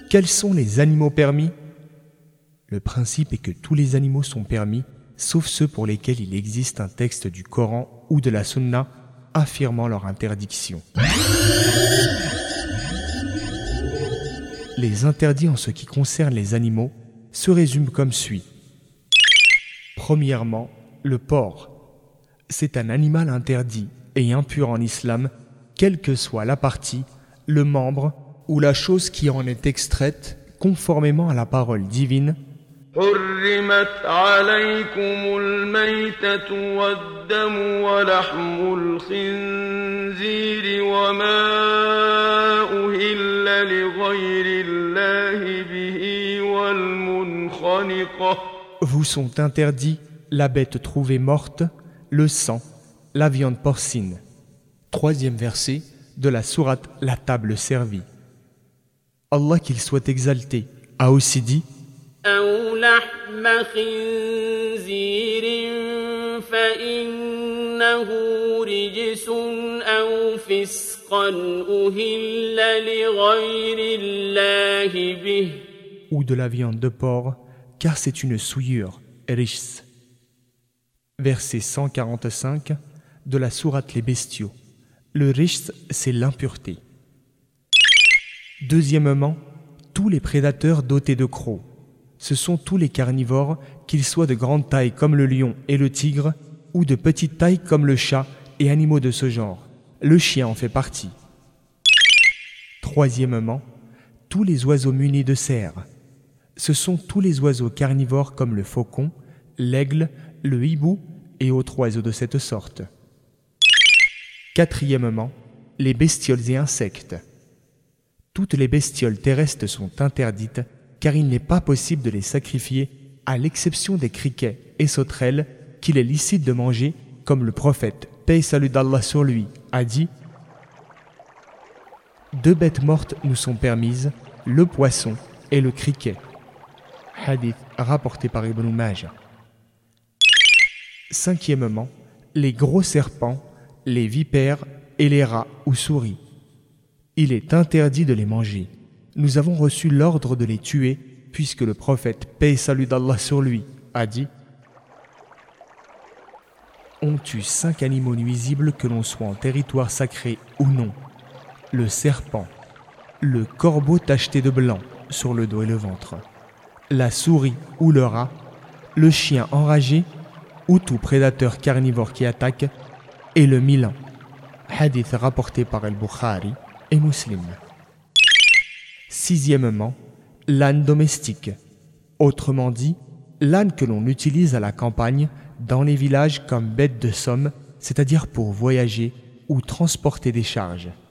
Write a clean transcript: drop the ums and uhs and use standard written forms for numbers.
Quels sont les animaux permis? Le principe est que tous les animaux sont permis, sauf ceux pour lesquels il existe un texte du Coran ou de la Sunna affirmant leur interdiction. Les interdits en ce qui concerne les animaux se résument comme suit. Premièrement, le porc. C'est un animal interdit et impur en islam, quelle que soit la partie, le membre ou la chose qui en est extraite conformément à la parole divine. حرمت عليكم الميتة والدم ولحم الخنزير وما أهل لغير الله به والمنخنقة. Vous sont interdits la bête trouvée morte, le sang, la viande porcine. 3e verset de la sourate La table servie. Allah qu'il soit exalté a aussi dit أو لحم خنزير فإنه رجس أو فسقا أهل لغير الله به. Ou de la viande de porc, car c'est une souillure, rijs. Verset 145 de la sourate Les Bestiaux. Le rijs, c'est l'impureté. Deuxièmement, tous les prédateurs dotés de crocs. Ce sont tous les carnivores, qu'ils soient de grande taille comme le lion et le tigre, ou de petite taille comme le chat et animaux de ce genre. Le chien en fait partie. Troisièmement, tous les oiseaux munis de serres. Ce sont tous les oiseaux carnivores comme le faucon, l'aigle, le hibou et autres oiseaux de cette sorte. Quatrièmement, les bestioles et insectes. Toutes les bestioles terrestres sont interdites car il n'est pas possible de les sacrifier à l'exception des criquets et sauterelles qu'il est licite de manger comme le prophète, paix et salut d'Allah sur lui, a dit « 2 bêtes mortes nous sont permises, le poisson et le criquet. » Hadith rapporté par Ibn Majah. Cinquièmement, les gros serpents, les vipères et les rats ou souris. Il est interdit de les manger. Nous avons reçu l'ordre de les tuer puisque le prophète, paix et salut d'Allah sur lui, a dit « On tue 5 animaux nuisibles que l'on soit en territoire sacré ou non. Le serpent, le corbeau tacheté de blanc sur le dos et le ventre, la souris ou le rat, le chien enragé ou tout prédateur carnivore qui attaque, et le milan. » Hadith rapporté par Al-Bukhari et Muslim. Sixièmement, l'âne domestique. Autrement dit, l'âne que l'on utilise à la campagne, dans les villages comme bête de somme, c'est-à-dire pour voyager ou transporter des charges.